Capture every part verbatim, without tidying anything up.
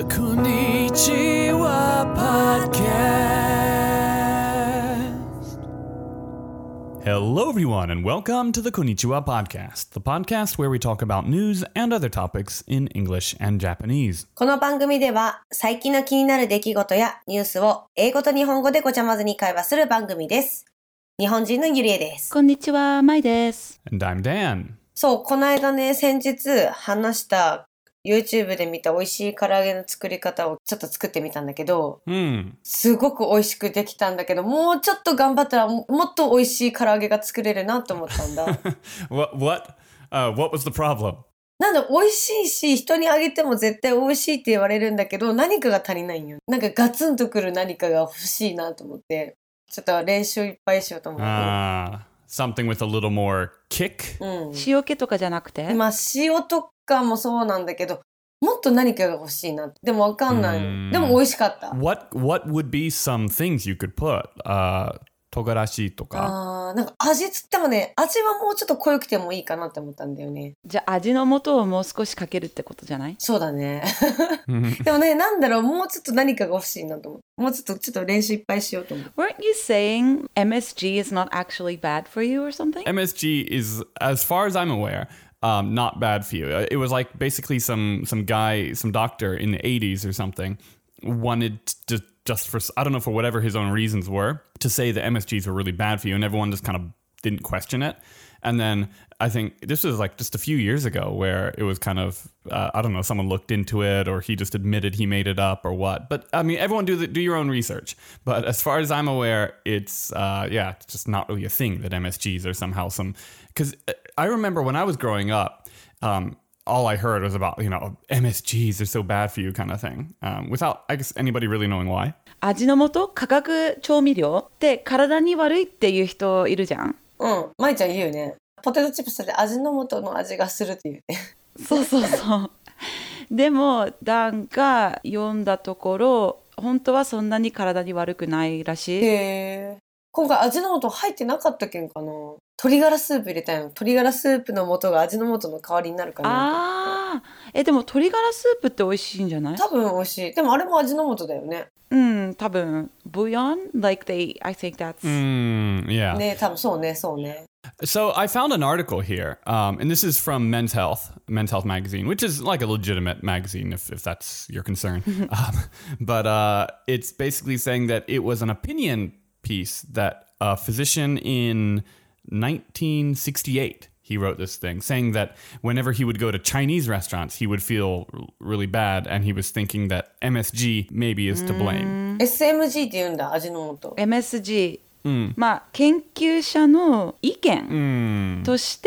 Konnichiwa Podcast. Hello, everyone, and welcome to the Konnichiwa Podcast, the podcast where we talk about news and other topics in English and Japanese. この番組では最近の気になる出来事やニュースを英語と日本語でごちゃ混ぜに会話する番組です。日本人のゆりえです。 こんにちは、まいです。 And I'm Dan. そう、この間ね、先日話した YouTube で見た美味しい唐揚げの作り方をちょっと作ってみたんだけど、 Mm. すごく美味しくできたんだけど、もうちょっと頑張ったらももっと美味しい唐揚げが作れるなと思ったんだ。 what, what, uh, what was the problem? なんだ、美味しいし、人にあげても絶対美味しいって言われるんだけど、何かが足りないんよ。なんかガツンとくる何かが欲しいなと思って、ちょっと練習いっぱいしようと思って。 Ah, something with a little more kick? うん。 塩気とかじゃなくて、 まあ、塩とかもそうなんだけど、もっと何かが欲しいな。でもわかんないの。でも美味しかった。 What, what would be some things you could put? Uh, 唐辛子とか。 あー、なんか味つってもね、味はもうちょっと濃くてもいいかなって思ったんだよね。 じゃあ味の素をもう少しかけるってことじゃない？ そうだね。でもね、なんだろう、もうちょっと何かが欲しいなと思って。もうちょっと、ちょっと練習いっぱいしようと思って。 Weren't you saying M S G is not actually bad for you or something? M S G is, as far as I'm aware, um, not bad for you. It was like basically some some guy, some doctor in the eighties or something wanted to just for, I don't know, for whatever his own reasons were, to say that M S Gs were really bad for you, and everyone just kind of didn't question it. And then I think this was like just a few years ago where it was kind of, uh, I don't know, someone looked into it or he just admitted he made it up or what. But I mean, everyone do the, do your own research. But as far as I'm aware, it's, uh, yeah, it's just not really a thing that M S Gs are somehow some, because I remember when I was growing up, um, all I heard was about, you know, M S Gs are so bad for you kind of thing, um, without, I guess, anybody really knowing why. 味の素、化学調味料って体に悪いっていう人いるじゃん。 うん。まいちゃん言うね。ポテトチップスで味の素の味がするって言うね。 そうそうそう。でもダンが読んだところ、本当はそんなに体に悪くないらしい。 へー。今回味の素入ってなかったけんかな。鶏ガラスープ入れたいの。鶏ガラスープの素が味の素の代わりになるかな。 ああ、え、でも鶏ガラスープって美味しいんじゃない？ 多分美味しい。でもあれも味の素だよね。 うん、多分。Bouillon? Like they, I think that's... Mm, yeah. ね、多分そうね、そうね。 So I found an article here, um, and this is from Men's Health, Men's Health magazine, which is like a legitimate magazine if, if that's your concern. um, but uh, it's basically saying that it was an opinion piece that a physician in nineteen sixty-eight, he wrote this thing, saying that whenever he would go to Chinese restaurants, he would feel r- really bad, and he was thinking that M S G maybe is to blame. エスエムジー って言うんだ、味の素。 エムエスジー、 うん、 まあ研究者の意見として、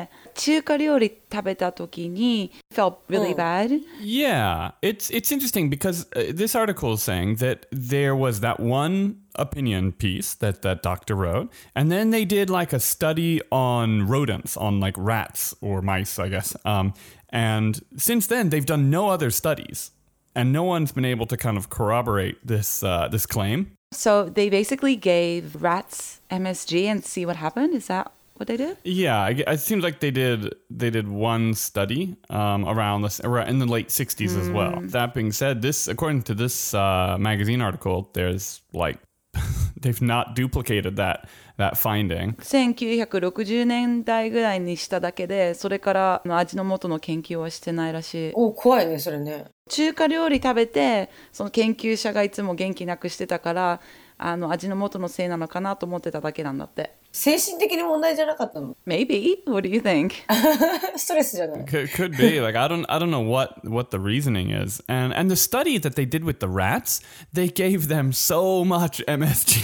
中華料理食べた時に felt really bad. Yeah, it's it's interesting because uh, this article is saying that there was that one opinion piece that that doctor wrote, and then they did like a study on rodents, on like rats or mice, I guess. Um, and since then, they've done no other studies, and no one's been able to kind of corroborate this uh, this claim. So they basically gave rats M S G and see what happened. Is that what they did? Yeah, I, it seems like they did they did one study um, around this around in the late sixties as well. That being said, this according to this uh, magazine article, there's like they've not duplicated that that finding. せんきゅうひゃくろくじゅうねんだいぐらいにしただけで、それから味の素の研究はしてないらしい。 お、怖いね、それね。 中華料理食べて、その研究者がいつも元気なくしてたから、あの味の素のせいなのかなと思ってただけなんだって。 精神的に問題じゃなかったの？ Maybe? What do you think? ストレスじゃない？ Could, could be like I don't I don't know what what the reasoning is, and and the study that they did with the rats, they gave them so much M S G.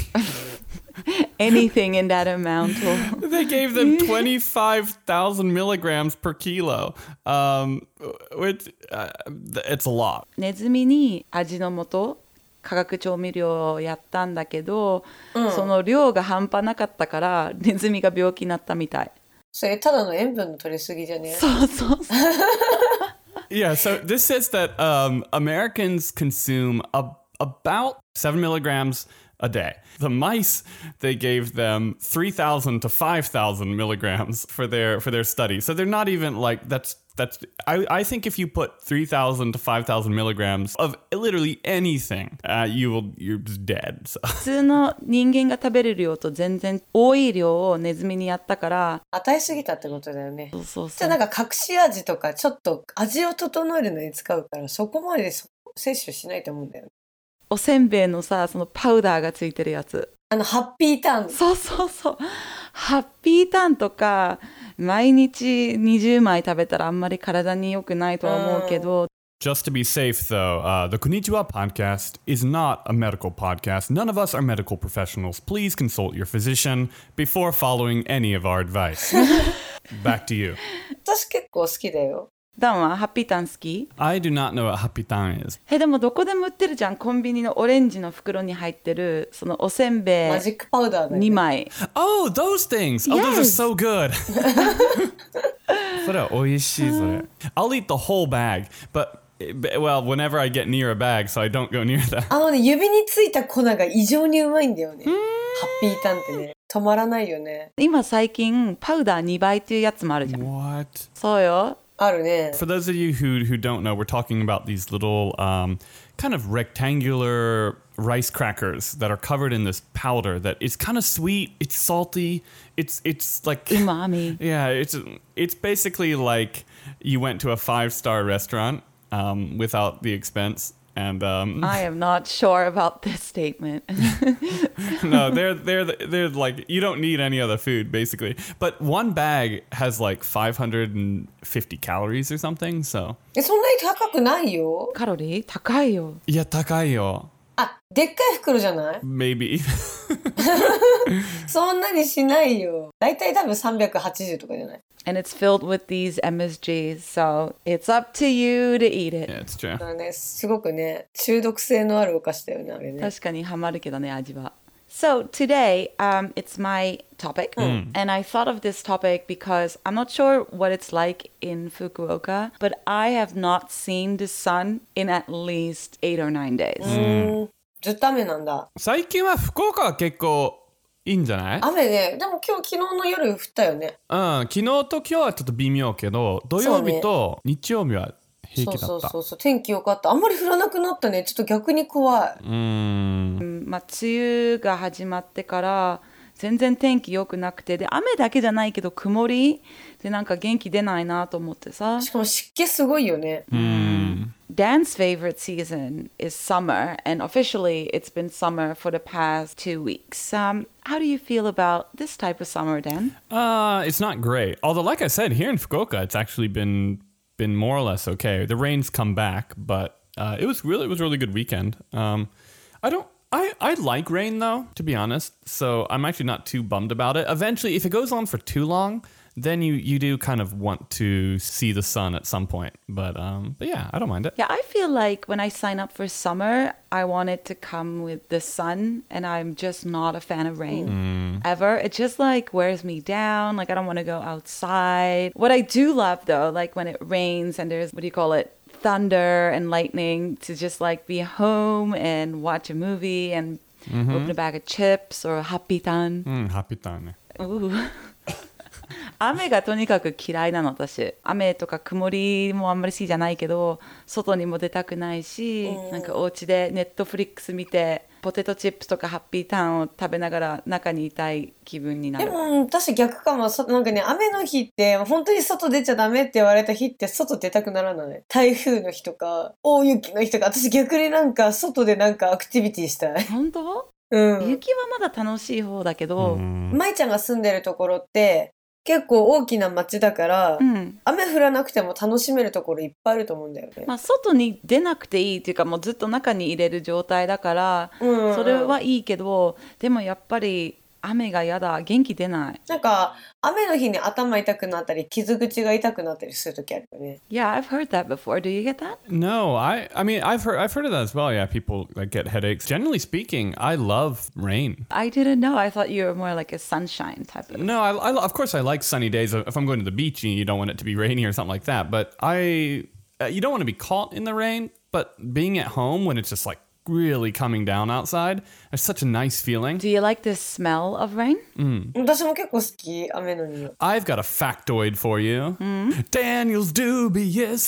Anything in that amount will... They gave them twenty-five thousand milligrams per kilo, um, which uh, it's a lot. ネズミに味の素化学調味料をやったんだけど、うん、その量が半端なかったからネズミが病気になったみたい。 それただの塩分の取りすぎじゃね？ そうそうそう。 Yeah, so this says that um, Americans consume a, about seven milligrams a day. The mice, they gave them three thousand to five thousand milligrams for their for their study. So they're not even like that's that's I, I think if you put three thousand to five thousand milligrams of literally anything, uh, you will you're just dead. So. 普通の人間が食べる量と全然多い量をネズミにやったから、 与えすぎたってことだよね。 そうそうじそう。 ゃあなんか隠し味とかちょっと味を整えるのに使うからそこまで摂取しないと思うんだよね。 おせんべいのさ、そのパウダーがついてるやつ。 あのハッピーターン。 そうそうそう。ハッピーターンとか毎日にじゅうまい食べたらあんまり体に良くないとは思うけど。 Just to be safe, though, uh, the Konnichiwa podcast is not a medical podcast. None of us are medical professionals. Please consult your physician before following any of our advice. Back to you. 私結構好きだよ。 ダンはハッピーターン好き？ I do not know what Hapitan is. え、でもどこでも売ってるじゃん。コンビニのオレンジの袋に入ってるそのおせんべいマジックパウダーだよね。 にまい。 Oh, those things! Oh, those are so good! それは美味しい、それ。I'll eat the whole bag, but, well, whenever I get near a bag, so I don't go near that. あのね、指についた粉が異常にうまいんだよね。ハッピーターンってね、止まらないよね。 今最近パウダーにばいっていうやつもあるじゃん。 What? そうよ。 あるね。 For those of you who, who don't know, we're talking about these little um, kind of rectangular rice crackers that are covered in this powder that is kind of sweet, it's salty, it's it's like うまみ。 yeah, it's it's basically like you went to a five-star restaurant um, without the expense. And um, I am not sure about this statement. no, they're they're they're like you don't need any other food basically. But one bag has like five hundred fifty calories or something. So え、そんなに高くないよ。 カロリー高いよ。 いや高いよ。 あ、でっかい袋じゃない？ Maybe. そんなにしないよ。だいたい多分さんびゃくはちじゅうとかじゃない？ And it's filled with these M S Gs, so it's up to you to eat it. Yeah, it's true. だからね、すごくね、中毒性のあるお菓子だよね、あれね。 確かにハマるけどね、味は。So today, um, it's my topic, and I thought of this topic because I'm not sure what it's like in Fukuoka, but I have not seen the sun in at least eight or nine days. うーん、ずっと雨なんだ。 最近は福岡は結構いいんじゃない？ 雨ね、でも今日昨日の夜降ったよね。 うん、昨日と今日はちょっと微妙けど、土曜日と日曜日は平気だった。 そうそうそうそう、天気良かった。あんまり降らなくなったね。ちょっと逆に怖い。 うーん。 うんまあ、梅雨が始まってから全然天気良くなくて、で雨だけじゃないけど曇りでなんか元気出ないなと思ってさ。 しかも湿気すごいよね。 うーん。 Dan's favorite season is summer, and officially it's been summer for the past two weeks. Um, how do you feel about this type of summer, Dan? Uh, it's not great. Although, like I said, here in Fukuoka, it's actually been been more or less okay. The rain's come back, but uh, it was really it was a really good weekend. Um, I don't. I, I like rain though, to be honest. So I'm actually not too bummed about it. Eventually, if it goes on for too long, then you, you do kind of want to see the sun at some point. But um, but yeah, I don't mind it. Yeah, I feel like when I sign up for summer, I want it to come with the sun, and I'm just not a fan of rain ever. It just like wears me down. Like I don't want to go outside. What I do love though, like when it rains and there's, what do you call it? Thunder and lightning, to just like be home and watch a movie and open a bag of chips or a happy tan. うん、ハッピーターンね。 Ooh. 雨がとにかく嫌いなの私。雨とか曇りもあんまり好きじゃないけど、外にも出たくないし、なんかお家でネットフリックス見てポテトチップスとかハッピーターンを食べながら中にいたい気分になる。 でも私逆かも。そなんかね、雨の日って本当に外出ちゃダメって言われた日って外出たくならない？台風の日とか大雪の日とか、私逆になんか外でなんかアクティビティしたい。 本当？ うん。 雪はまだ楽しい方だけど、 舞ちゃんが住んでるところって結構大きな街だから、 うん、 雨降らなくても楽しめるところいっぱいあると思うんだよね。 まあ、外に出なくていいっていうか、もうずっと中に入れる状態だから、 うんうん、 それはいいけど、でもやっぱり雨がやだ、元気出ない。 なんか雨の日に頭痛くなったり傷口が痛くなったりするときあるよね。 Yeah, I've heard that before. Do you get that? No, I I mean I've heard I've heard of that as well. Yeah, people like get headaches. Generally speaking, I love rain. I didn't know. I thought you were more like a sunshine type of. No, I, I of course I like sunny days. If I'm going to the beach, you don't want it to be rainy or something like that. But I uh, you don't want to be caught in the rain. But being at home when it's just like really coming down outside. It's such a nice feeling. Do you like the smell of rain? 私も結構好き、雨の匂い。 I've got a factoid for you. Daniel's dubious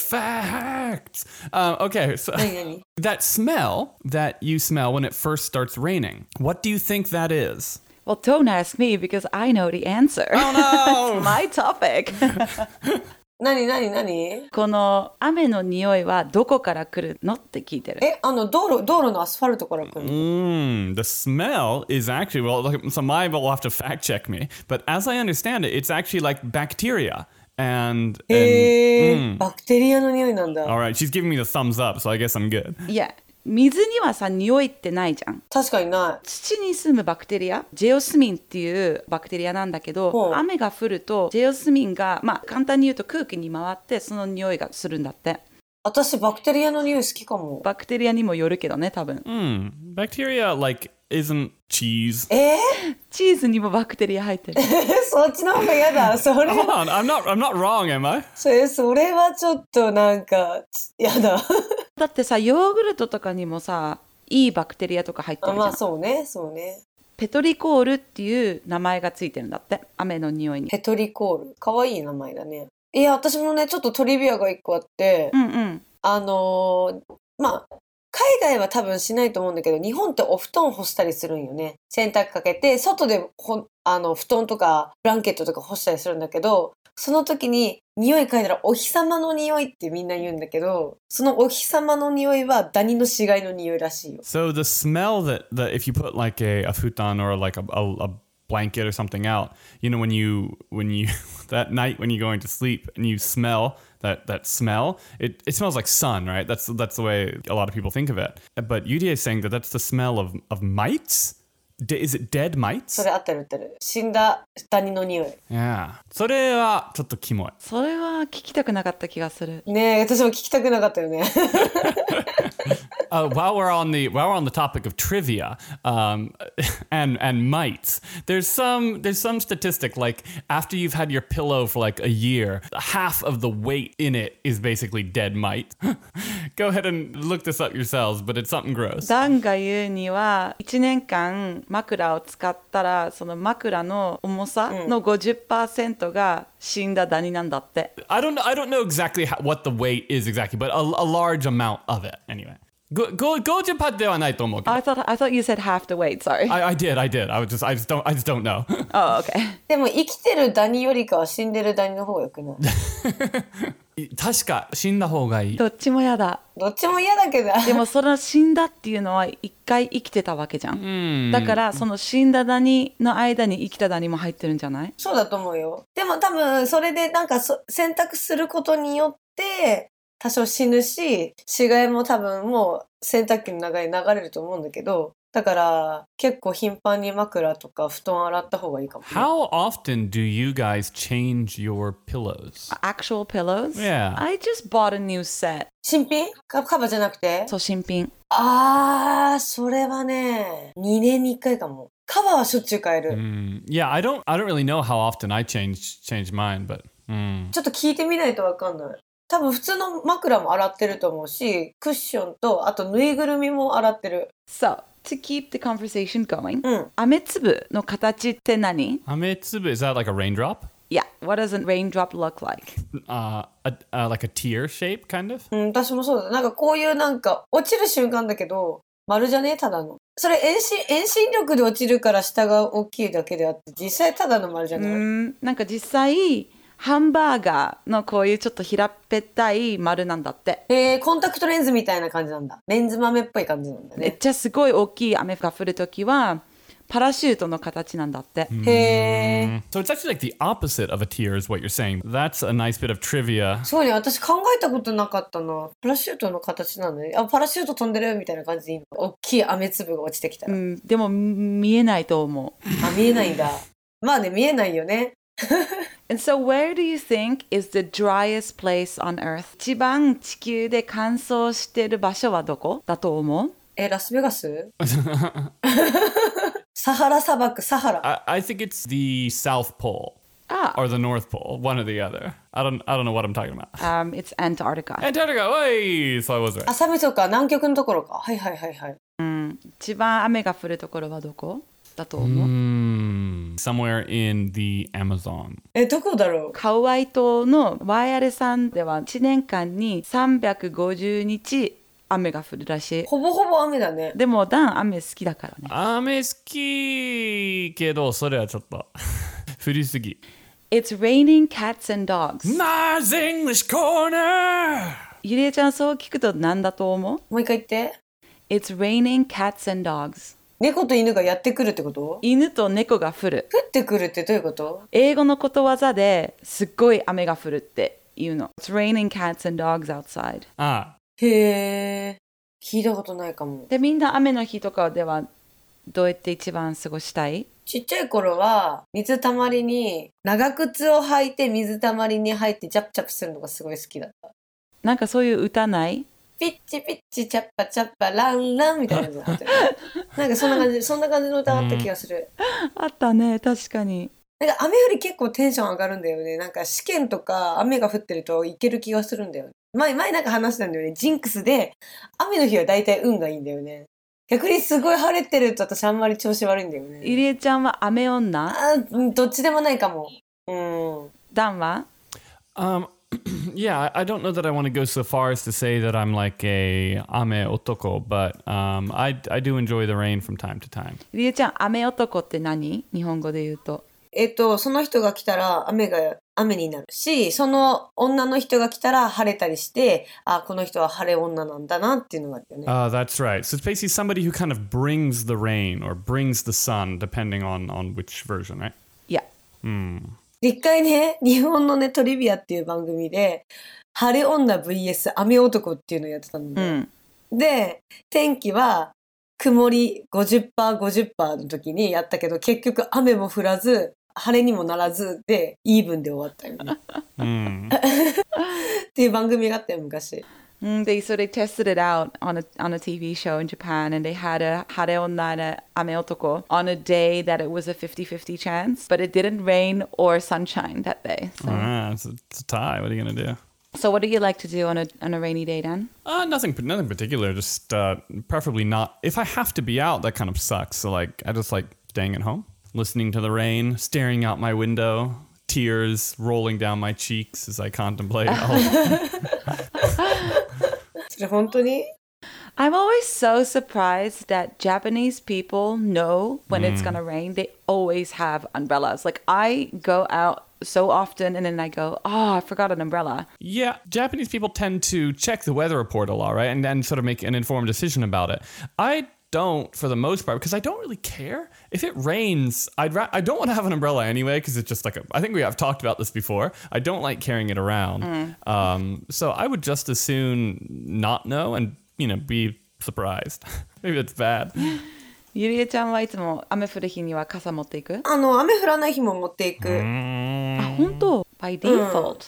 facts. Um, okay, so 何何 that smell that you smell when it first starts raining, what do you think that is? Well, don't ask me because I know the answer. Oh no! My topic. 何何何この雨の匂いはどこから来るのって聞いてる。 え、あの、道路、道路のアスファルトから来るの Mm, the smell is actually, well, look, so my will have to fact check me, but as I understand it, it's actually like bacteria. And, and へー、バクテリアの匂いなんだ。 all right, she's giving me the thumbs up, so I guess I'm good. いや、水にはさ、匂いってないじゃん。 確かにな土に住むバクテリア、ジェオスミンっていうバクテリアなんだけほど、 う雨が降るとジェオスミンが、まあ簡単に言うと空気に回ってその匂いがするんだって。 い。私、バクテリアの匂い好きかも。 バクテリアにもよるけどね、多分。 Hmm, bacteria, like, isn't cheese. えチーズにもバクテリア入ってる。 ー、そっちの方が嫌だ。それ、 Hold on, I'm not, I'm not wrong, am I? それ、それはちょっとなんか、嫌だ。 だってさ、ヨーグルトとかにもさ、いいバクテリアとか入ってるじゃん。 あまあ、そうね、そうね。 ペトリコールっていう名前がついてるんだって。雨の匂いに。 ペトリコール。かわいい名前だね。いや、私もね、ちょっとトリビアが一個あって、 うんうん。 あのーまあ、海外は多分しないと思うんだけど、日本ってお布団干したりするんよね。洗濯かけて、外でほあの布団とかブランケットとか干したりするんだけど、その時に匂い嗅いだらお日様の匂いってみんな言うんだけど、そのお日様の匂いはダニの死骸の匂いらしいよ。 So the smell that, that if you put like a, a futon or like a, a, a blanket or something out, you know, when you, when you, that night when you're going to sleep and you smell that, that smell, it, it smells like sun, right? That's, that's the way a lot of people think of it. But Yudia is saying that that's the smell of, of mites? De, is it dead そ mites? れ合ってる合ってる。死んだダニの匂い。 Yeah. それはちょっとキモい。 それは聞きたくなかった気がする。 ねえ、私も聞きたくなかったよね。 Uh, while we're on the while we're on the topic of trivia um, and and mites, there's some there's some statistic like after you've had your pillow for like a year, half of the weight in it is basically dead mite. Go ahead and look this up yourselves, but it's something gross. ダンが言うには、いちねんかん枕を使ったら、その枕の重さの ごじゅっパーセント が死んだダニなんだって。 I don't I don't know exactly how, what the weight is exactly, but a, a large amount of it anyway. Go go go Japan ではないと思うけど。 I thought, I thought you said half the weight, sorry. I, I did, I did. I was just, I just don't, I just don't know. Oh, okay. でも生きてるダニよりかは死んでるダニの方がよくない確か死んだ方がいい。 どっちも嫌だ。 どっちも嫌だけど。 でもその死んだっていうのは一回生きてたわけじゃん。だからその死んだダニの間に生きたダニも入ってるんじゃない？ そうだと思うよ。でも多分それでなんかそ選択することによって多少死ぬし、死骸も多分もう洗濯機の中に流れると思うんだけど、だから結構頻繁に枕とか布団洗った方がいいかも、ね。 How often do you guys change your pillows? Actual pillows? Yeah. I just bought a new set. 新品？カカバーじゃなくて？ そう、新品。 あー、それはね、にねんにいっかいかも。カバーはしょっちゅう変える。 Mm, yeah, I don't, I don't really know how often I change change mine, but. Mm. ちょっと聞いてみないとわかんない。多分普通の枕も洗ってると思うし、クッションとあとぬいぐるみも洗ってる。 So, to keep the conversation going, うん。 雨粒の形って何？ Ametsubu, is that like a raindrop? Yeah, what does a raindrop look like? Uh, a, uh, like a tear shape, kind of? うん、私もそうだ。なんかこういうなんか落ちる瞬間だけど、丸じゃねえただの。それ遠心、遠心力で落ちるから下が大きいだけであって、実際ただの丸じゃない？ うん、なんか実際、ハンバーガーのこういうちょっと平っぺったい丸なんだって。 えー、コンタクトレンズみたいな感じなんだ。レンズ豆っぽい感じなんだね。 めっちゃすごい大きい雨が降るときは、パラシュートの形なんだって。 へー。 So it's actually like the opposite of a tear, is what you're saying. That's a nice bit of trivia. そうね、私考えたことなかったな。パラシュートの形なのね。あ、パラシュート飛んでるみたいな感じでいいの。大きい雨粒が落ちてきたら。 うん、でも見えないと思う。 あ、見えないんだ。まあね、見えないよね。 And so where do you think is the driest place on earth? 一番地球で乾燥してる場所はどこだと思う？ え、ラスベガスサハラ砂漠、サハラ。 I, I think it's the South Pole. Ah. Or the North Pole, one or the other. I don't, I don't know what I'm talking about. Um, it's Antarctica. Antarctica, hey! So I was right. あ、寒いそうか、南極のところか。はいはいはいはい。 一番雨が降るところはどこだと思う、 Mm, somewhere in the Amazon. え、どこだろう。 カウアイ島のワイアレ山ではいちねんかんにさんびゃくごじゅうにち雨が降るらしい。 ほぼほぼ雨だね。 でもダン雨好きだからね。 雨好きけど、それはちょっと降りすぎ。 It's raining cats and dogs. Nice English corner! ゆりえちゃんそう聞くと何だと思う？ もう一回言って。 It's raining cats and dogs. 猫と犬がやってくるってこと？ 犬と猫が降る。 降ってくるってどういうこと？ 英語のことわざですっごい雨が降るって言うの。It's raining cats and dogs outside. あ、 へえ、聞いたことないかも。 で、みんな雨の日とかではどうやって一番過ごしたい？ ちっちゃい頃は水たまりに長靴を履いて水たまりに入ってジャプジャプするのがすごい好きだった。 なんかそういう歌ない？ ピッチピッチチャッパチャッパランランみたいなのがあってなんかそんな感じそんな感じの歌あった気がする。 あったね、確かに。 なんか雨降り結構テンション上がるんだよね。なんか試験とか雨が降ってるといける気がするんだよね。前前なんか話したんだよね。ジンクスで雨の日は大体運がいいんだよね。逆にすごい晴れてると私あんまり調子悪いんだよね。 ゆりえちゃんは雨女？ あ、うんどっちでもないかも。うん。 ダンは？ Um, yeah, I I don't know that I want to go so far as to say that I'm like a ame otoko, but um, I, I do enjoy the rain from time to time. ゆりえちゃん、雨男って何？日本語で言うと。 えっと、その人が来たら雨が雨になるし、その女の人が来たら晴れたりして、あ、この人は晴れ女なんだなっていうのがあるよね。 Uh, that's right. So it's basically somebody who kind of brings the rain or brings the sun, depending on, on which version, right? いや。 で一回ね、日本のね、トリビアっていう番組で、晴れ女 ブイエス 雨男っていうのをやってたんだよ。 うん。 で、天気は曇り ごじゅっパーセントごじゅっパーセント の時にやったけど、結局雨も降らず、晴れにもならずで、イーブンで終わったよね。 Mm. っていう番組があったよ、昔。 Mm, they so they tested it out on a on a T V show in Japan, and they had a hare onna and a ame otoko on a day that it was a fifty-fifty chance, but it didn't rain or sunshine that day. So, Ah, it's, a, it's a tie. What are you going to do? so what do you like to do on a on a rainy day, Dan? Uh, nothing, nothing particular. Just uh, preferably not. If I have to be out, that kind of sucks. So like, I just like staying at home, listening to the rain, staring out my window, tears rolling down my cheeks as I contemplate. all- それ本当に？ I'm always so surprised that Japanese people know when it's gonna rain. They always have umbrellas. Like I go out so often and then I go, oh, I forgot an umbrella. Yeah, Japanese people tend to check the weather report a lot, right? And then sort of make an informed decision about it. I don't for the most part because I don't really care. If it rains, I'd ra- I don't want to have an umbrella anyway because it's just like a, I think we have talked about this before. I don't like carrying it around. Um, so I would just as soon not know and, you know, be surprised. Maybe it's bad. ゆりえちゃんはいつも雨降る日には傘持っていく？ あの、雨降らない日も持っていく。 あ、本当？ By default.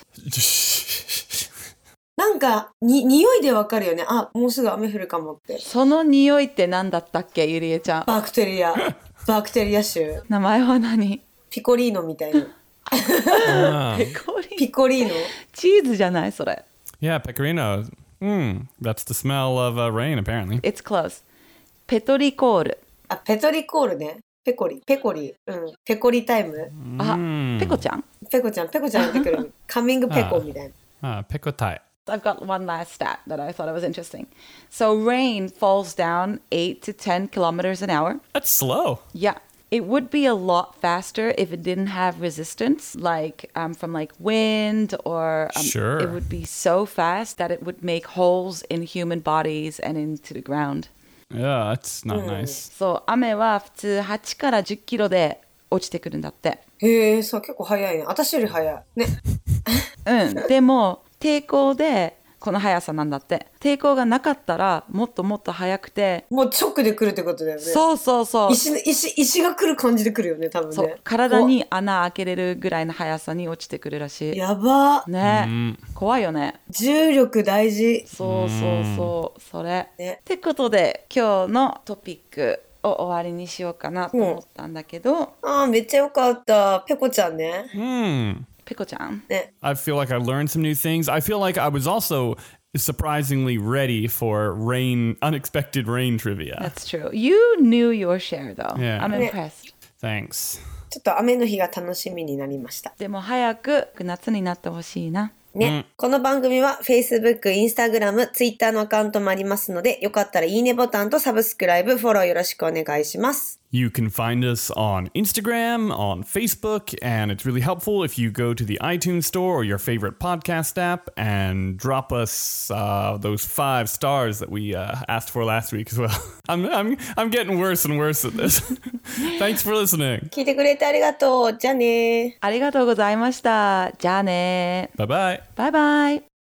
なんか、に、匂いでわかるよね。あ、もうすぐ雨降るかもって。 その匂いって何だったっけ、ゆりえちゃん。 バクテリア。バクテリア種。 名前は何？ ピコリーノみたいな。 Ah. ペコリ。 ピコリーノ。 チーズじゃないそれ。 Yeah, pecorino. Mm, that's the smell of uh, rain, apparently. It's close. ペトリコール。 あ、ペトリコールね。ペコリ。ペコリ。うん。ペコリタイム。 あ、ペコちゃん？ ペコちゃん、ペコちゃんやってくる。カミングペコみたいな。 Ah, pekotai. I've got one last stat that I thought it was interesting. So rain falls down eight to ten kilometers an hour. That's slow. Yeah. It would be a lot faster if it didn't have resistance, like um, from like wind or um, Sure. it would be so fast that it would make holes in human bodies and into the ground. Yeah, that's not nice. そう、雨は普通はちからじゅっキロで落ちてくるんだって。 へえ、そう、結構早いね。私より早い。ね。 うん。でも、抵抗でこの速さなんだって。抵抗がなかったらもっともっと速くて。 もう直で来るってことだよね。 そうそうそう。 石、石、石が来る感じで来るよね、多分ね。 そう。体に穴開けれるぐらいの速さに落ちてくるらしい。 やば。 ね、怖いよね。 重力大事。 そうそうそう。それ。 ね。 ってことで今日のトピックを終わりにしようかなと思ったんだけど。 ああ、めっちゃよかった。ペコちゃんね。 Hmm. ペコちゃん。 ね。 I feel like I learned some new things. I feel like I was also surprisingly ready for rain, unexpected rain trivia. That's true. You knew your share, though. Yeah. I'm impressed. Thanks. ちょっと雨の日が楽しみになりました。 でも早く夏になってほしいな。 ね、この番組は Facebook、Instagram、Twitter のアカウントもありますので、よかったらいいねボタンとサブスクライブ、フォローよろしくお願いします。 You can find us on Instagram, on Facebook, and it's really helpful if you go to the iTunes store or your favorite podcast app and drop us uh, those five stars that we uh, asked for last week as well. I'm, I'm, I'm getting worse and worse at this. Thanks for listening. 聞いてくれてありがとう。じゃあね。 ありがとうございました。じゃあね。 Bye bye. Bye bye.